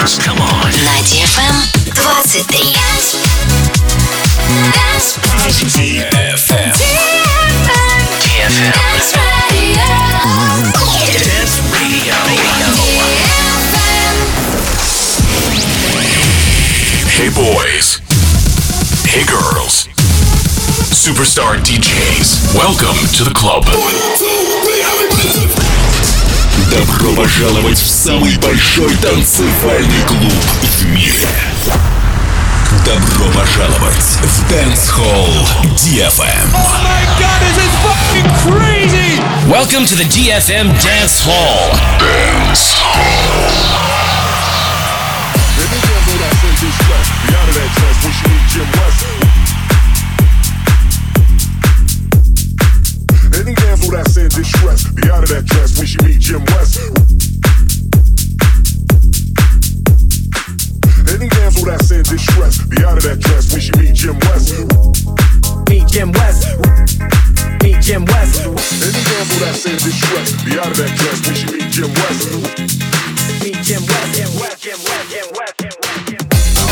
dance. Come on. На DFM 23. DFM. Dance Radio. Hey boys. Hey girls. Superstar DJs. Welcome to the club. Добро пожаловать в самый большой танцевальный клуб в мире. Добро пожаловать в Dance Hall DFM. Oh my god, this is fucking crazy! Welcome to the DFM Dance Hall. Dance Hall. Any damsel that's in distress, be out of that dress when she meet Jim West. Any damsel that's in distress, be out of that dress when she meet Jim West. Meet Jim West. Meet Jim West. Any damsel that's in distress, be out of that dress when she meet Jim West. Meet Jim West. Jim West. Jim West. Jim West. Jim West. Jim West.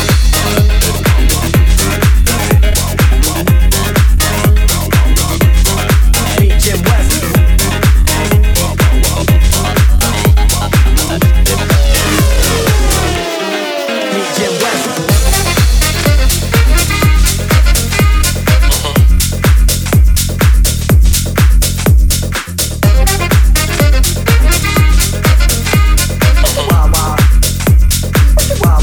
Jim West. Jim West. Wow, wow.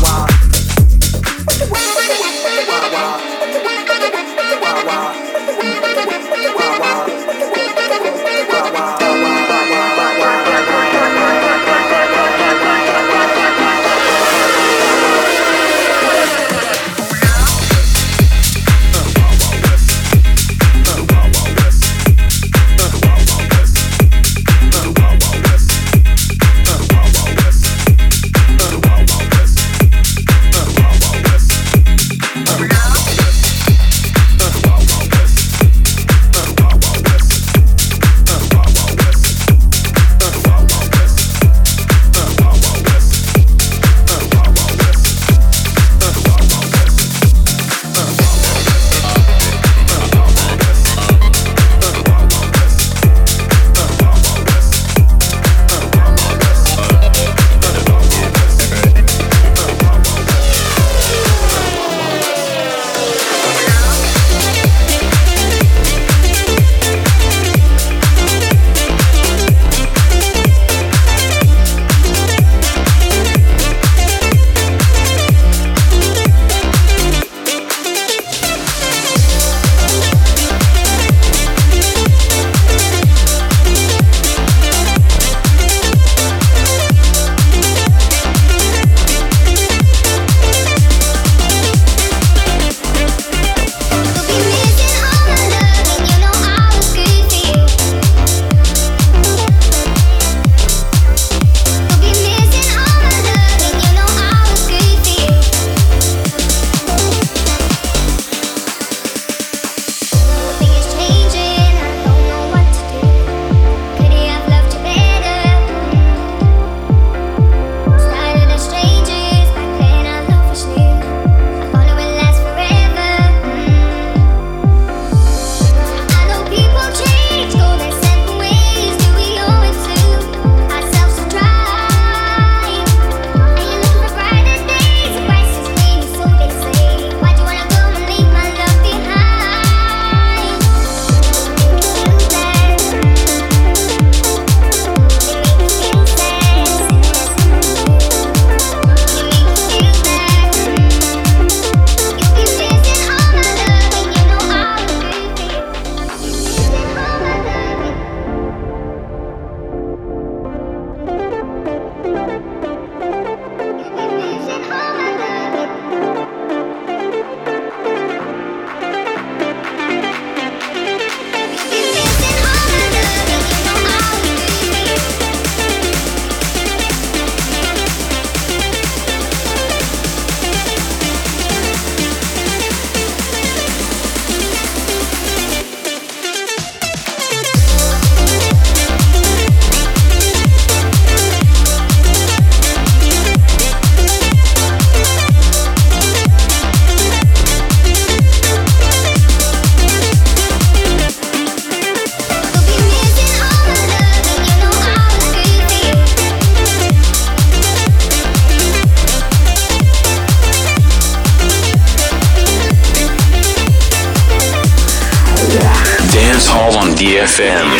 DFM.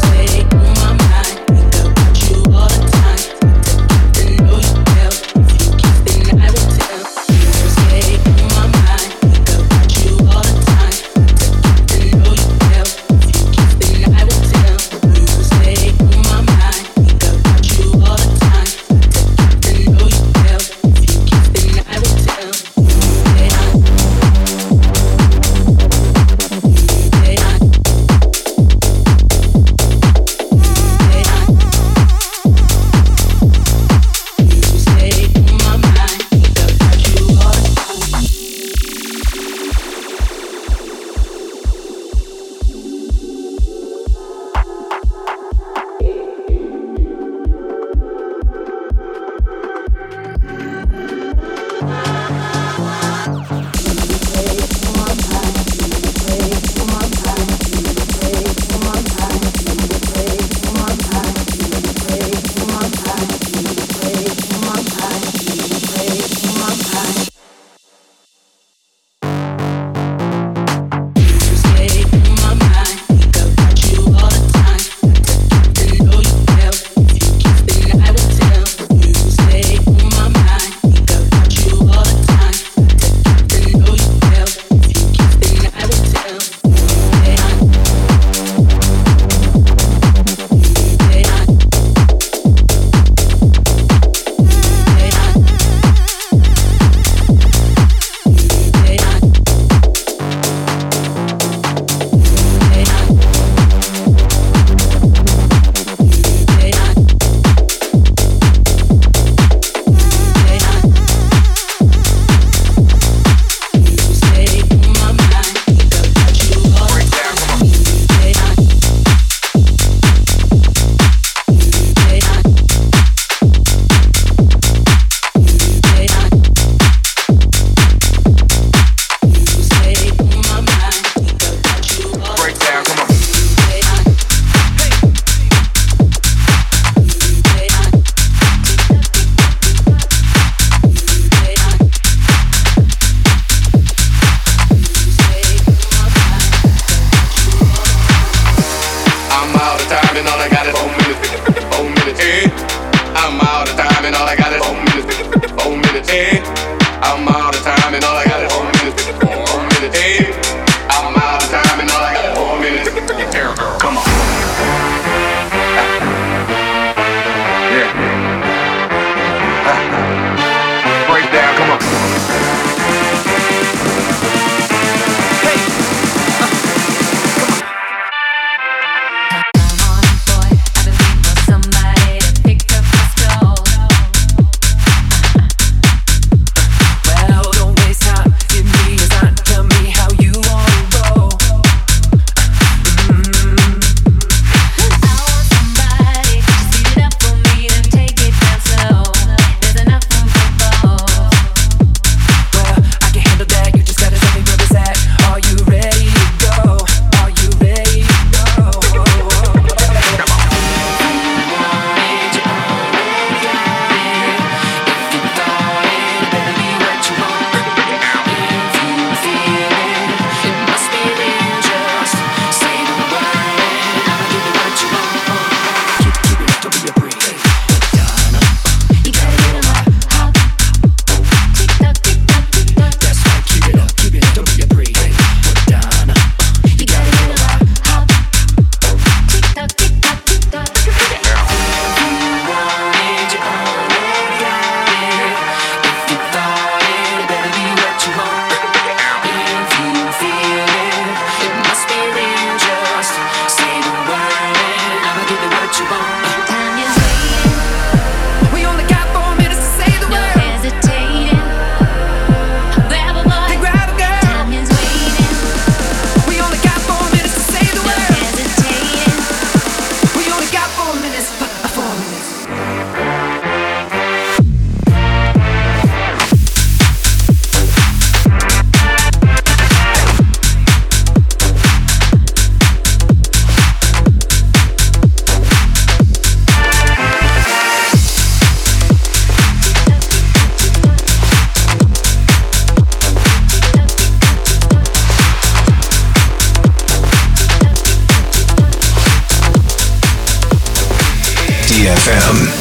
You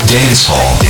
Dance Hall.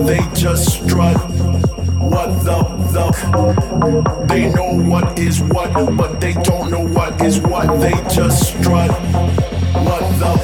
they just strut. What the they know what is what, but they don't know what is what. They just strut. What the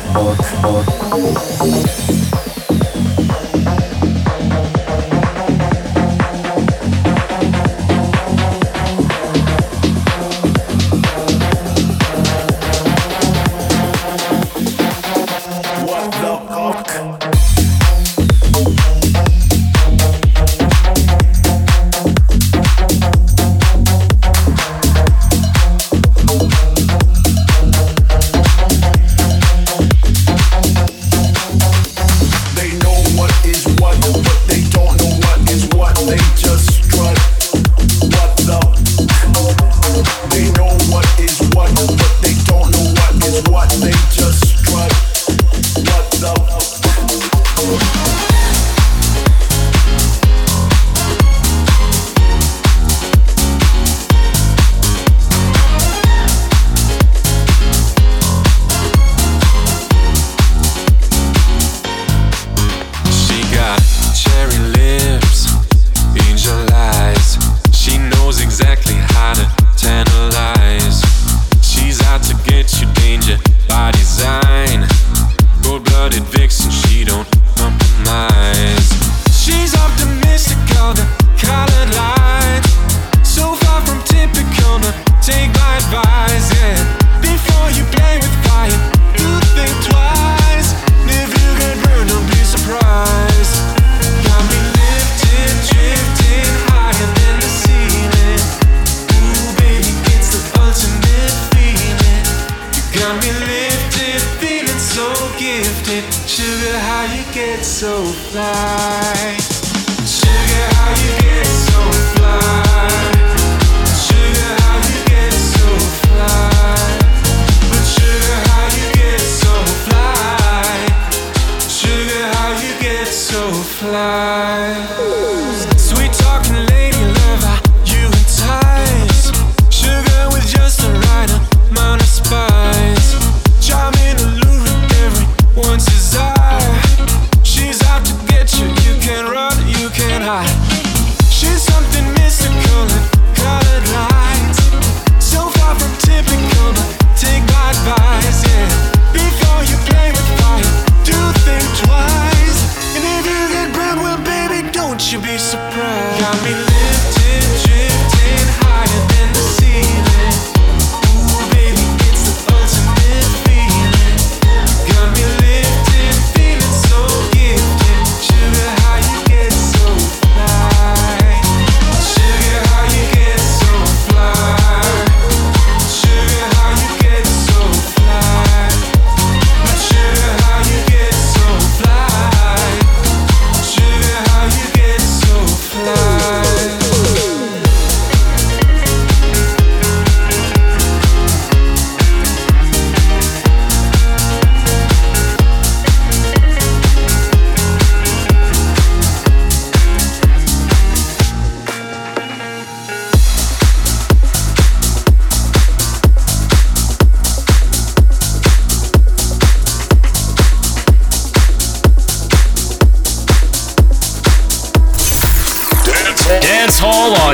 Dance Hall on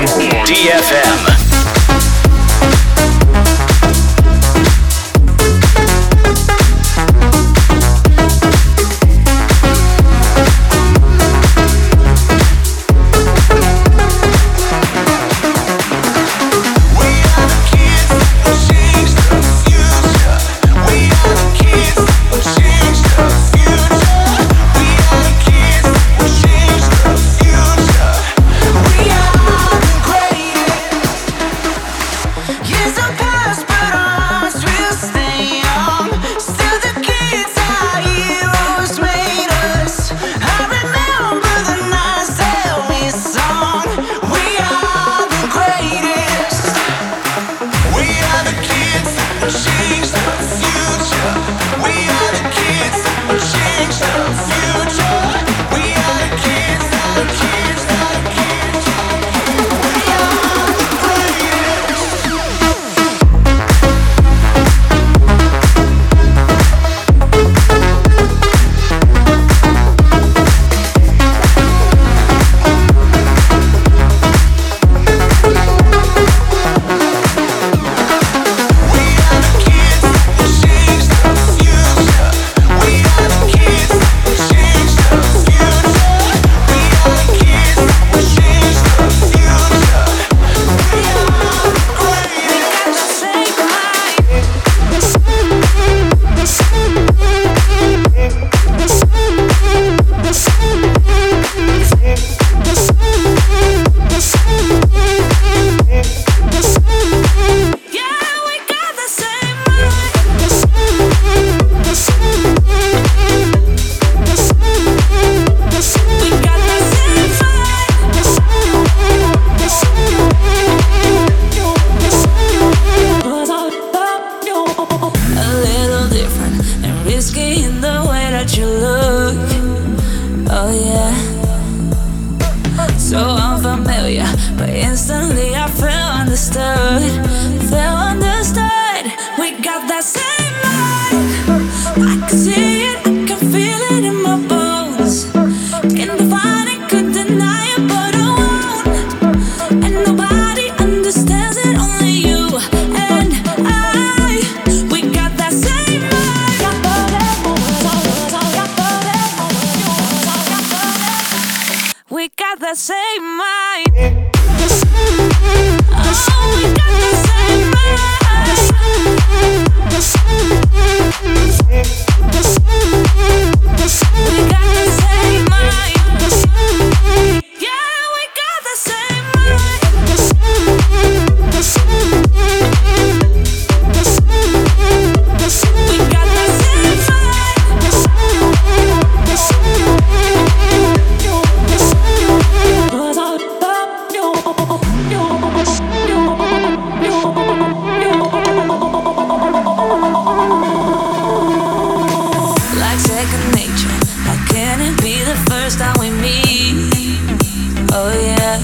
DFM. We are the greatest. So unfamiliar, but instantly I felt understood. Felt understood. We got that same vibe. I can see it, I can feel it in my bones. Can't define it, could deny it, but I won't. And nobody understands it, only you and I. We got that same vibe. We got that same mind. Oh, we got the same mind. We got the same mind. Yeah, we got the same mind. We got the same like second nature. How can it be the first time we meet? Oh yeah.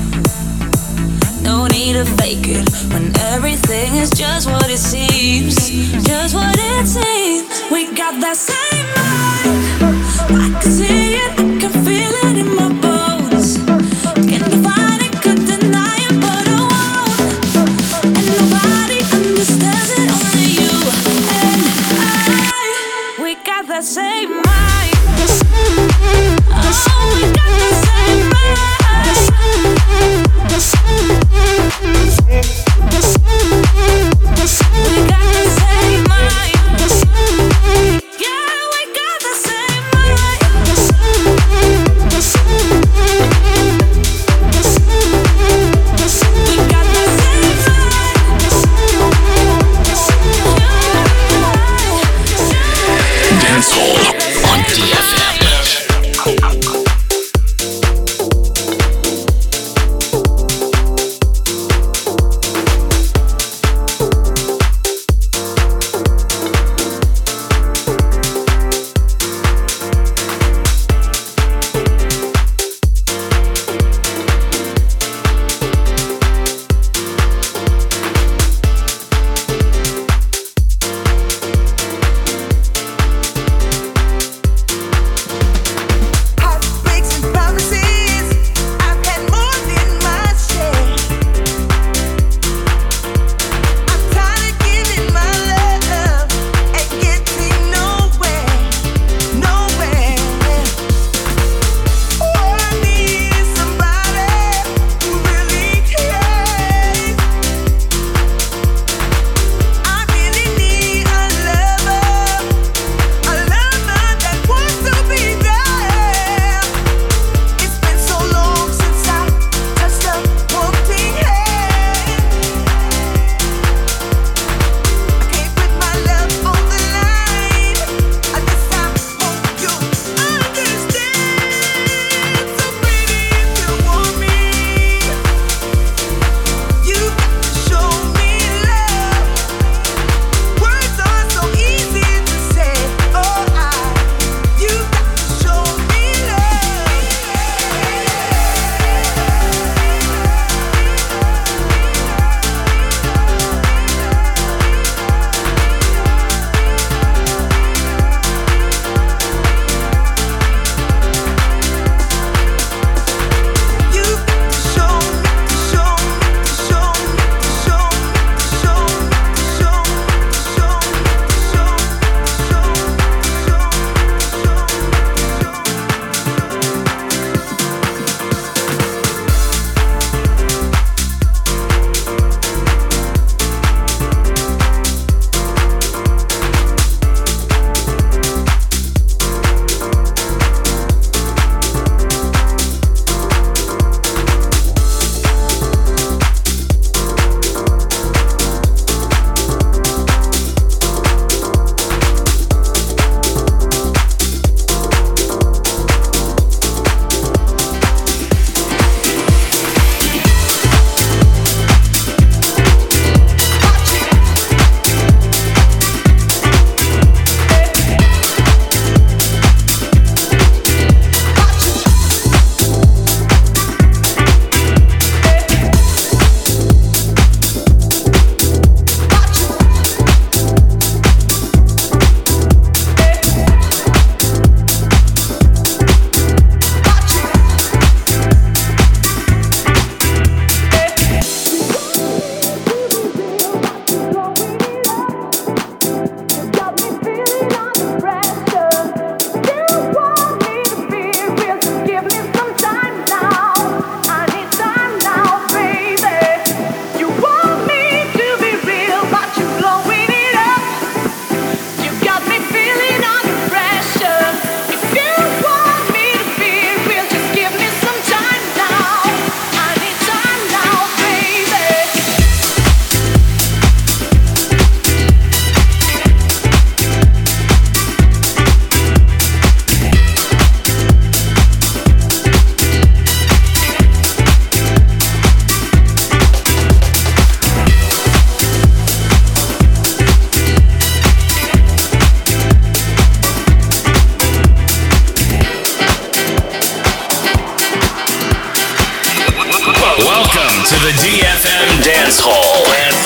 No need to fake it when everything is just what it seems. Just what it seems. We got that same vibe. I can see it, I can feel it in my bones. Can't define it, could deny it, but I won't. And nobody understands it, only you and I. We got that same mind. Oh, we got the same mind. We got the same mind. Yeah, we got the same mind. Welcome to the DFM Dance Hall.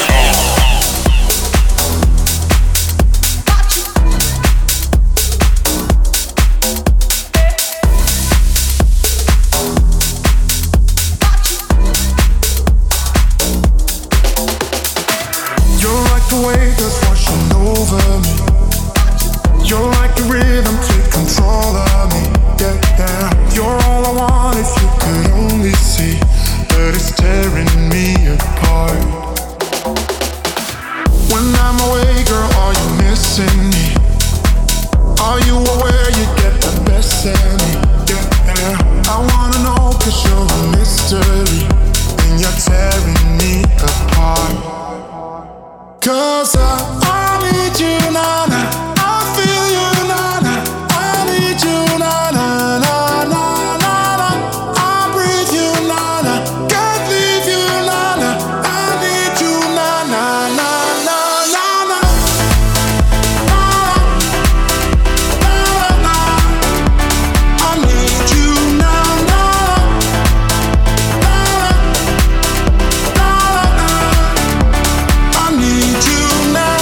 You're like the wave that's washing over me. You're like the rhythm, take control of me. Yeah, yeah. You're all I want if you could only see that it's tearing me apart. When I'm away, girl, are you missing me? Are you aware you get the best of me? Yeah, yeah. I wanna know 'cause you're a mystery and you're tearing me apart. 'Cause I need you, na-na. I feel you, na-na. I need you, na-na, na-na, na-na. I breathe you, na-na. Can't leave you, na-na. I need you, na-na, na-na, na-na. Na-na, I need you, na-na. I need you now.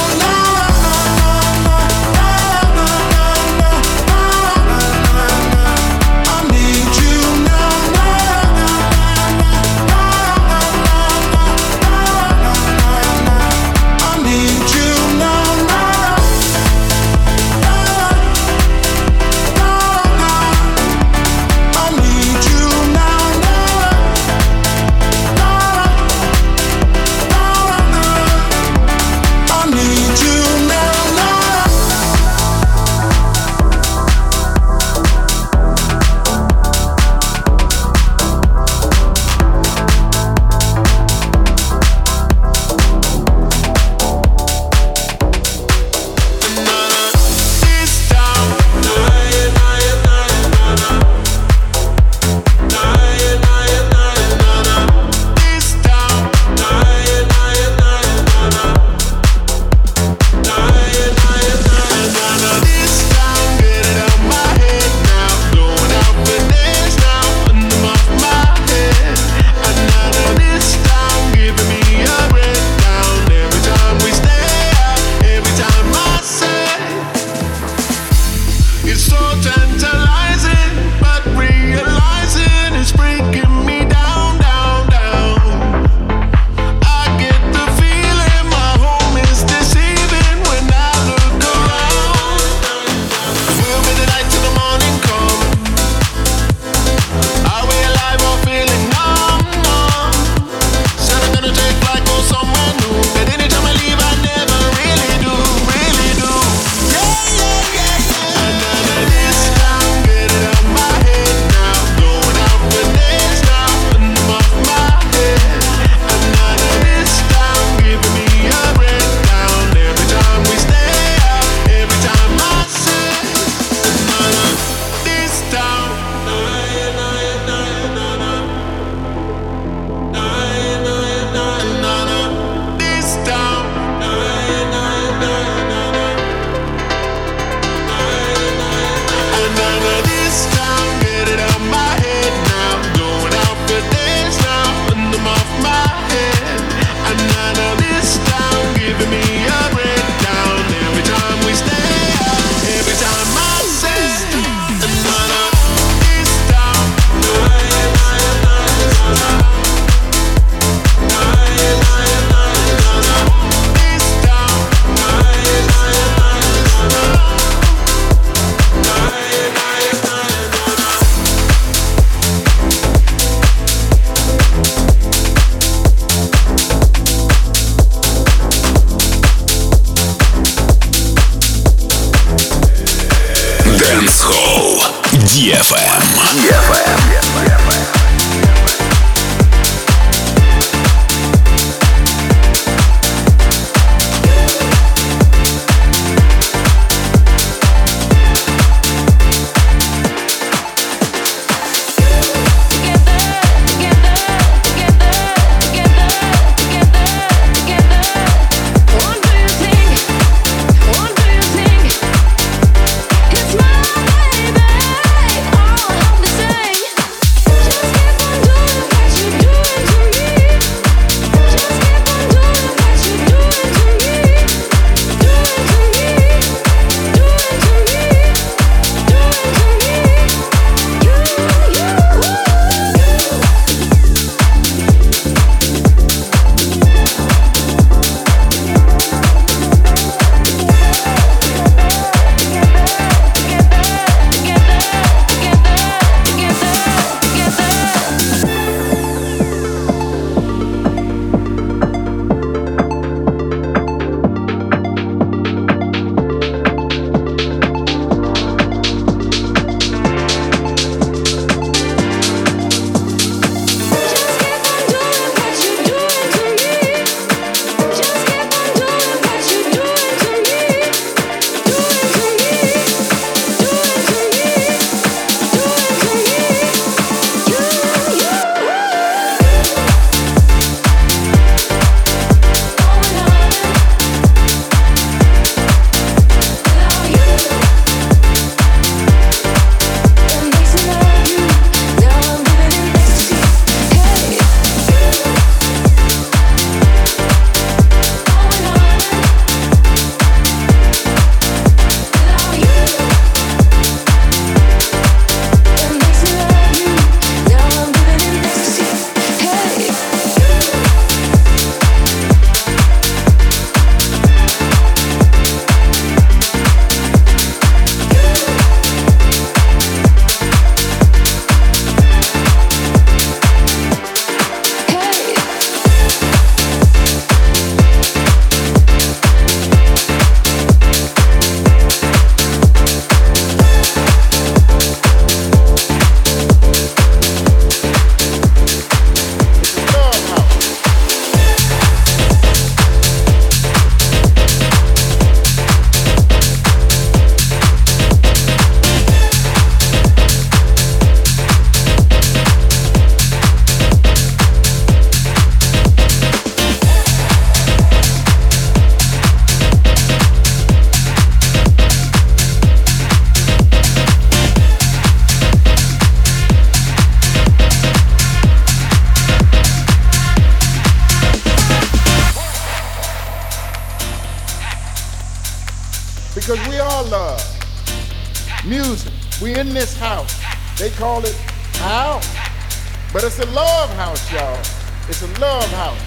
because we all love music. We in this house. They call it house, but it's a love house, y'all. It's a love house.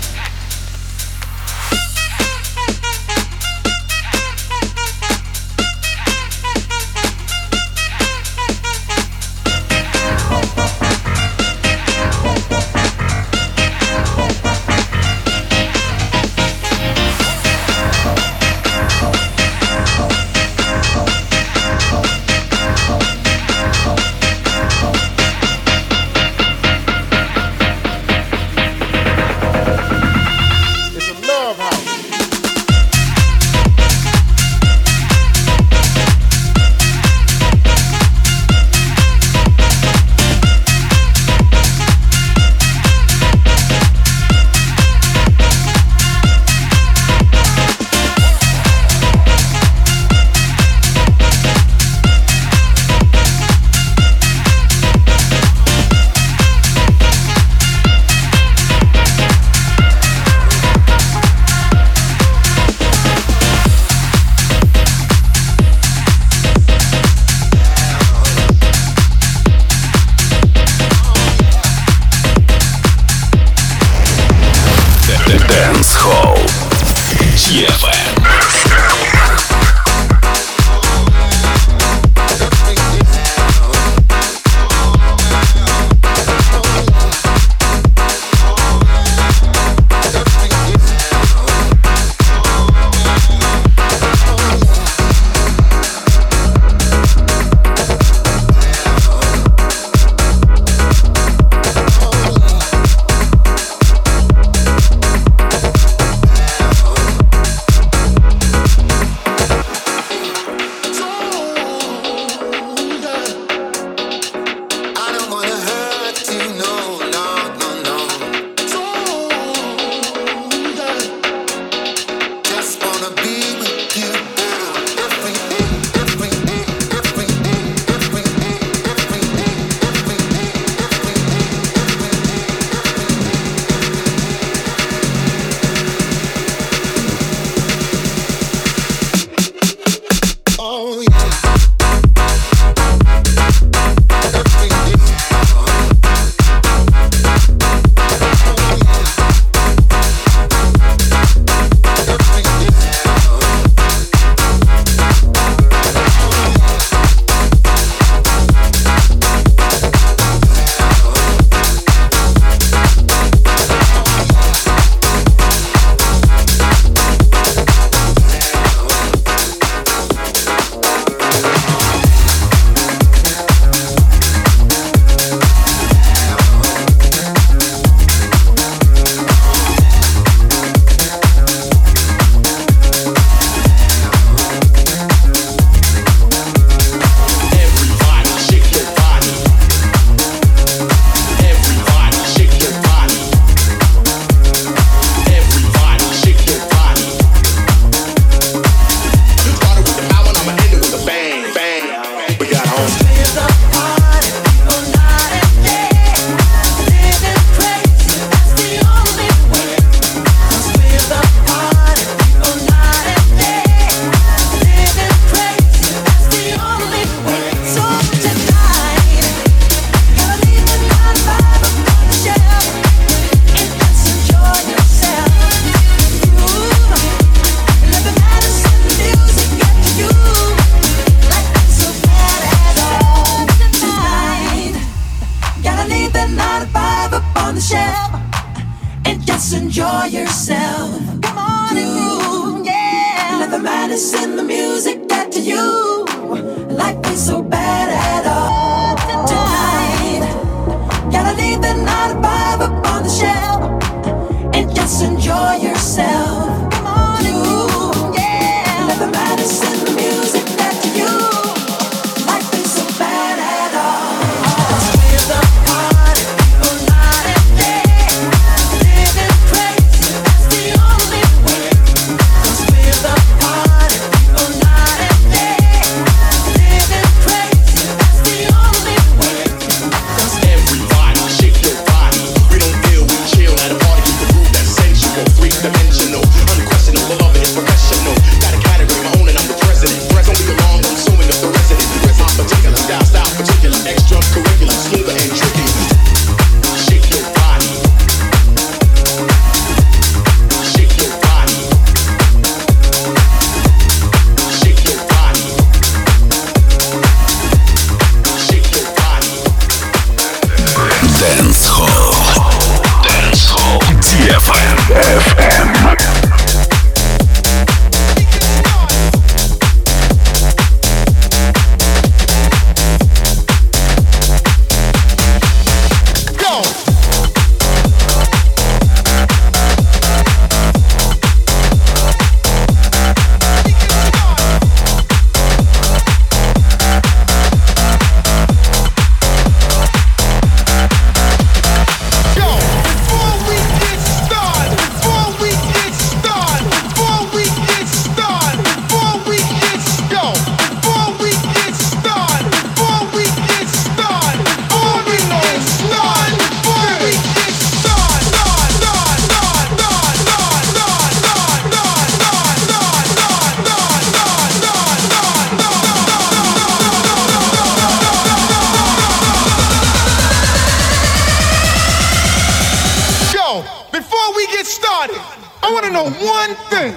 before we get started, I want to know one thing.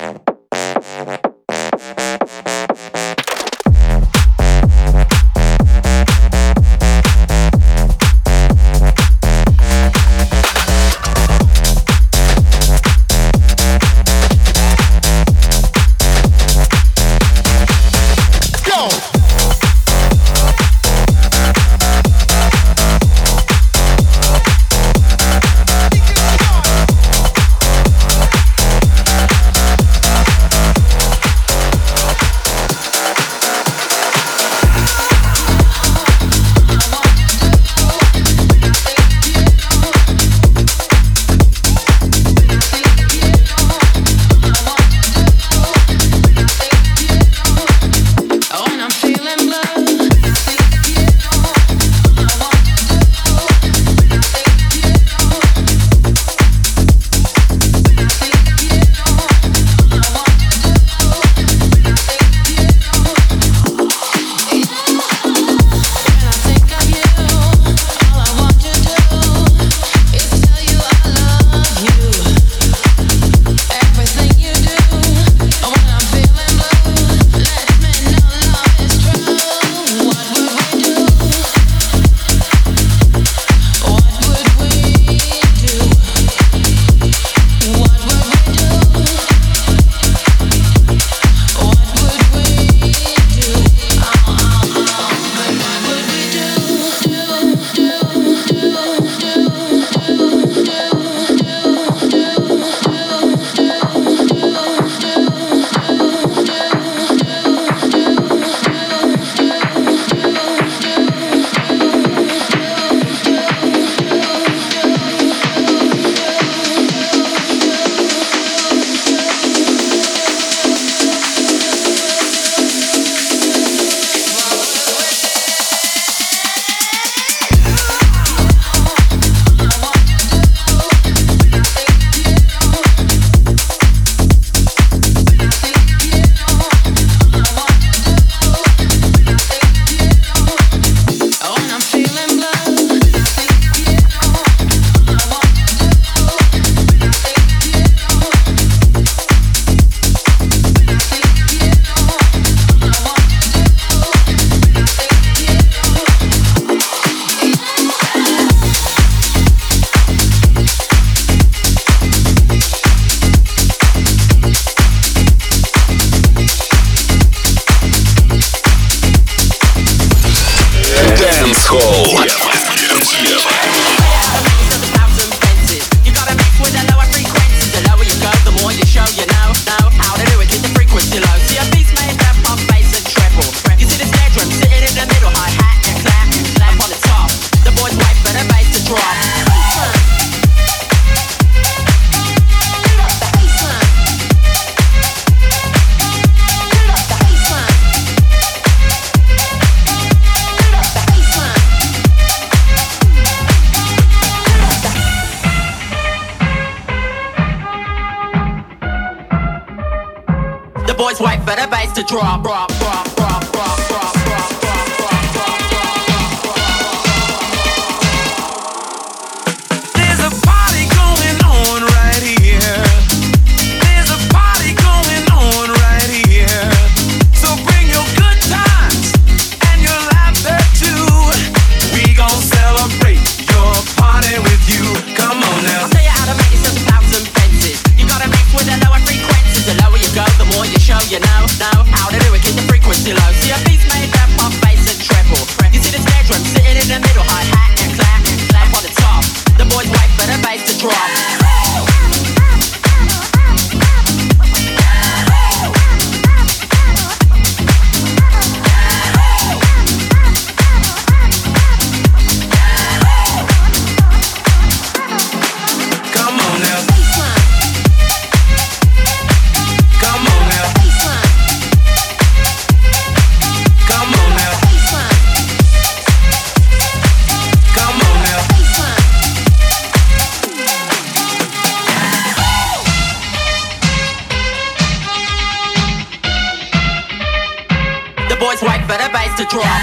boys wait for the bass to drop.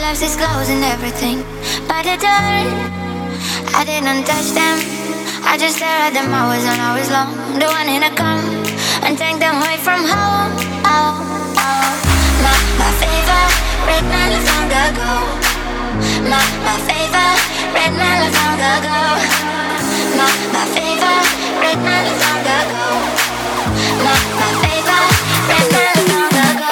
lives disclosing everything by the door. I didn't touch them, I just stare at them hours and hours long. The one in a come and take them away from home. Oh, oh. My favorite man is long ago. My favorite man is long ago. My favorite man is long ago. My favorite man is long ago.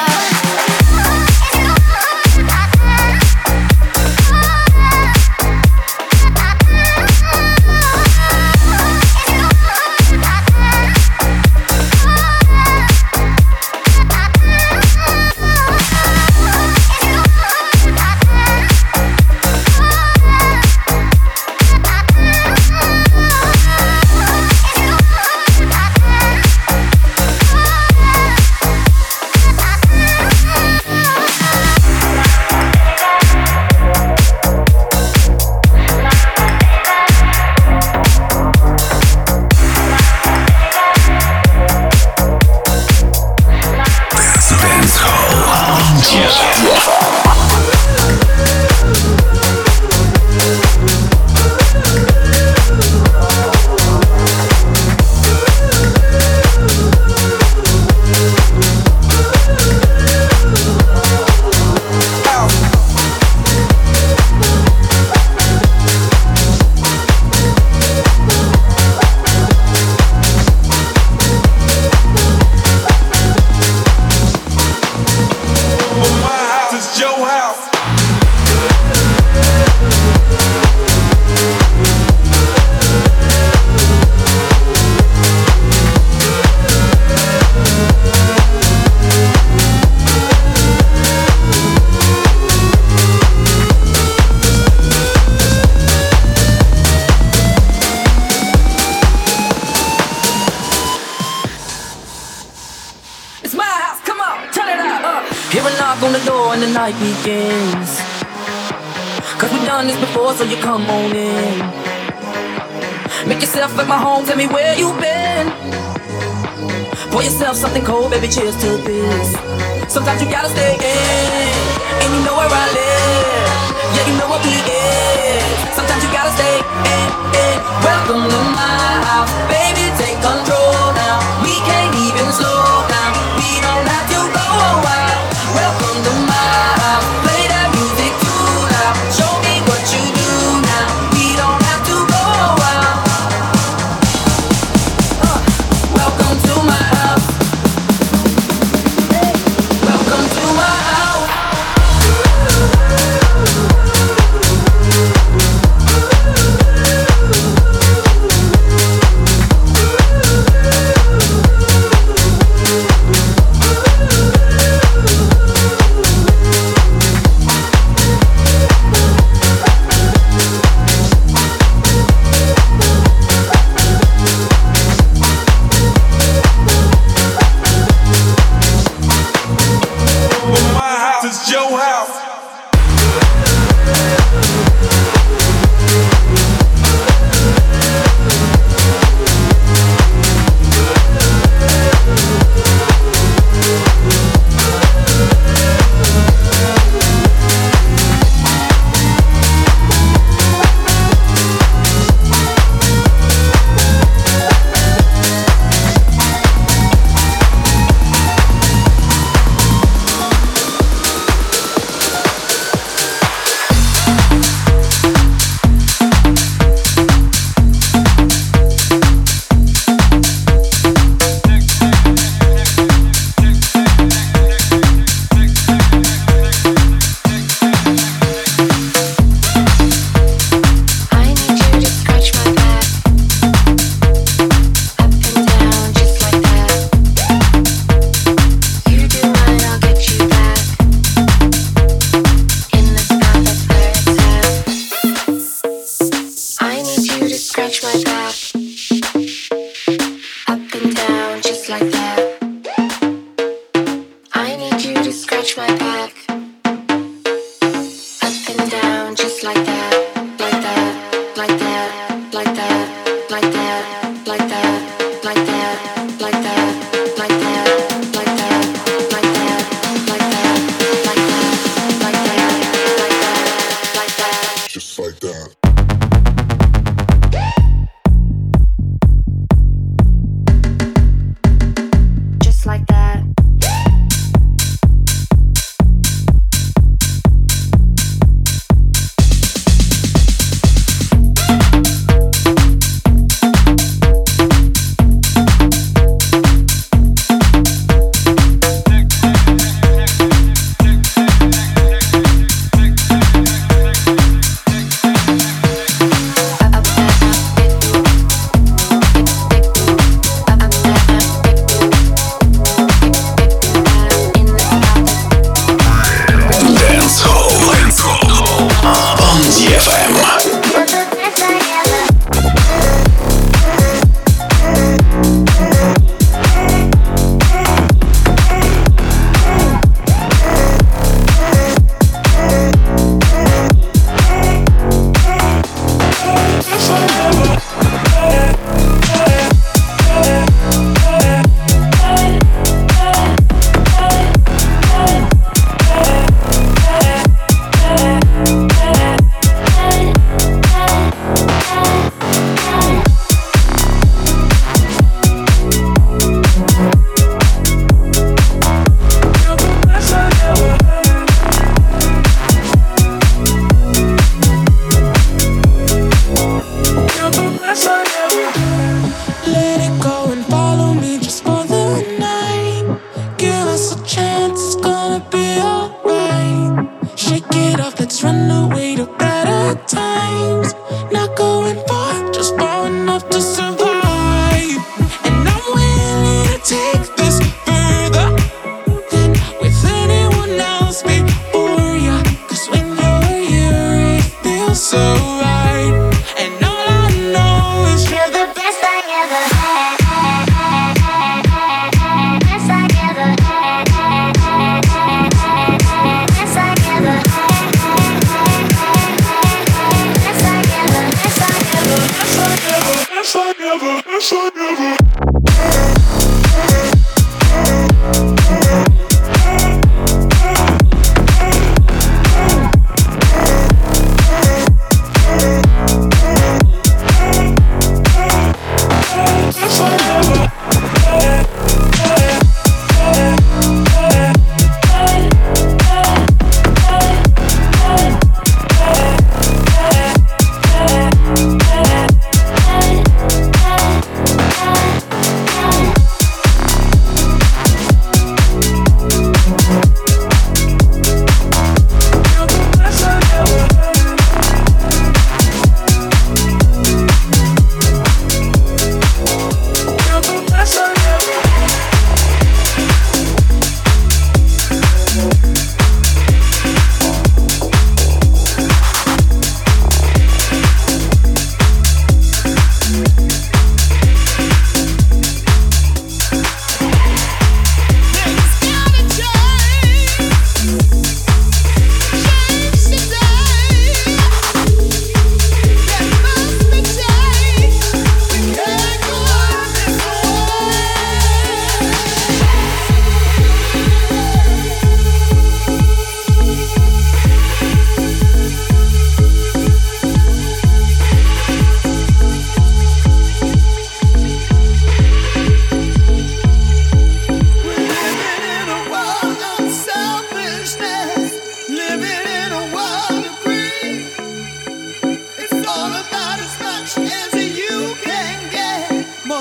Begins. Cause we've done this before, so you come on in. Make yourself at my home, tell me where you've been. Pour yourself something cold, baby, cheers to this. Sometimes you gotta stay in, and you know where I live. Yeah, you know what we is. Sometimes you gotta stay in. Welcome to my house, baby, take control now. We can't even slow down, we don't have to go a while. Welcome to my house, play that music too loud. Show me what you do now, we don't have to go a while. Welcome to my house. Hey, welcome to my house.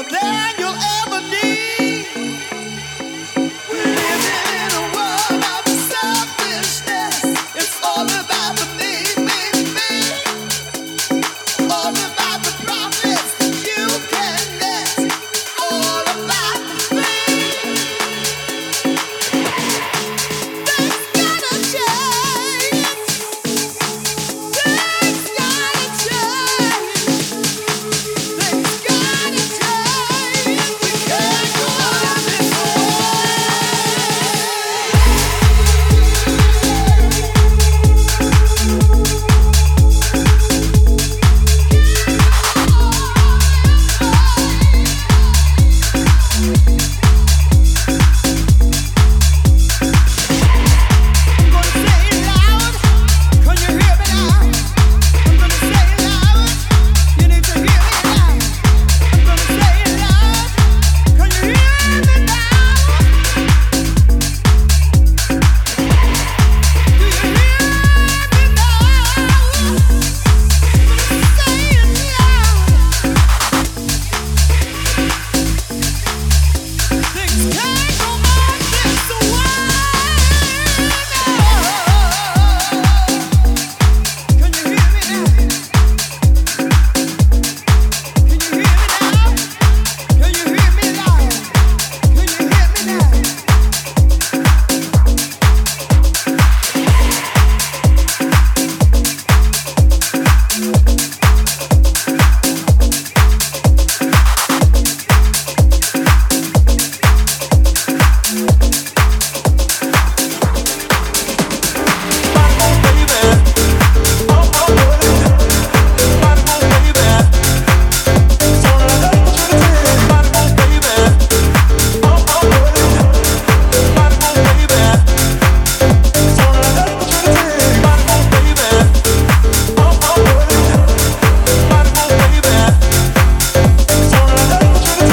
than you'll ever need.